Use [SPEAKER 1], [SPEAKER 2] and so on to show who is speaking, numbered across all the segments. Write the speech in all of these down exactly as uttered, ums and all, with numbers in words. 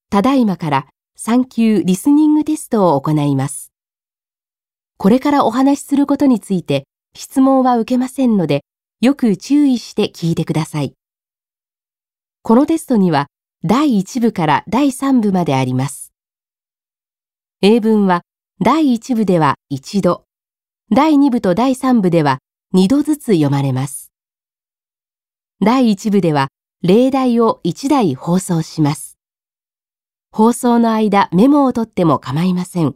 [SPEAKER 1] ただいまからさん級リスニングテストを行います。これからお話しすることについて質問は受けませんので、よく注意して聞いてください。このテストにはだいいち部からだいさん部まであります。英文はだいいち部では一度、だいに部とだいさん部ではにどずつ読まれます。だいいち部では例題をいちだい放送します。放送の間メモを取っても構いません。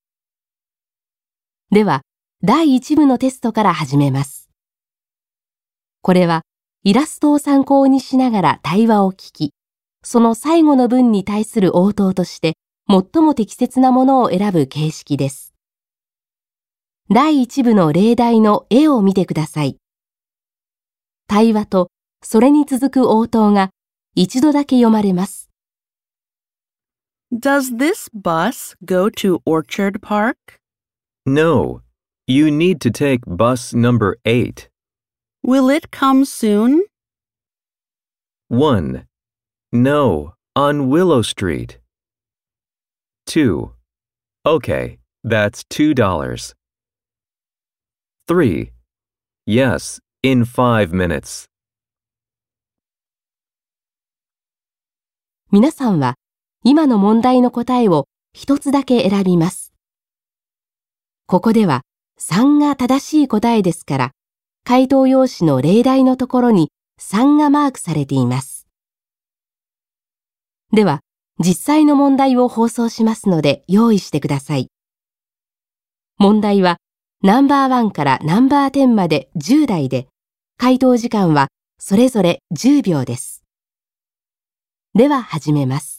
[SPEAKER 1] では、だいいち部のテストから始めます。これはイラストを参考にしながら対話を聞き、その最後の文に対する応答として最も適切なものを選ぶ形式です。だいいち部の例題の絵を見てください。対話とそれに続く応答が一度だけ読まれます。
[SPEAKER 2] Does this bus go to Orchard Park?
[SPEAKER 3] No, you need to take bus number eight.
[SPEAKER 2] Will it come soon?
[SPEAKER 3] one. No, on Willow Street. two. Okay, that's two dollars. three. Yes, in five minutes.
[SPEAKER 1] 皆さんは今の問題の答えを一つだけ選びます。ここではさんが正しい答えですから、回答用紙の例題のところにさんがマークされています。では、実際の問題を放送しますので用意してください。問題はナンバーワンからナンバーテンまでじゅう題で、回答時間はそれぞれじゅうびょうです。では始めます。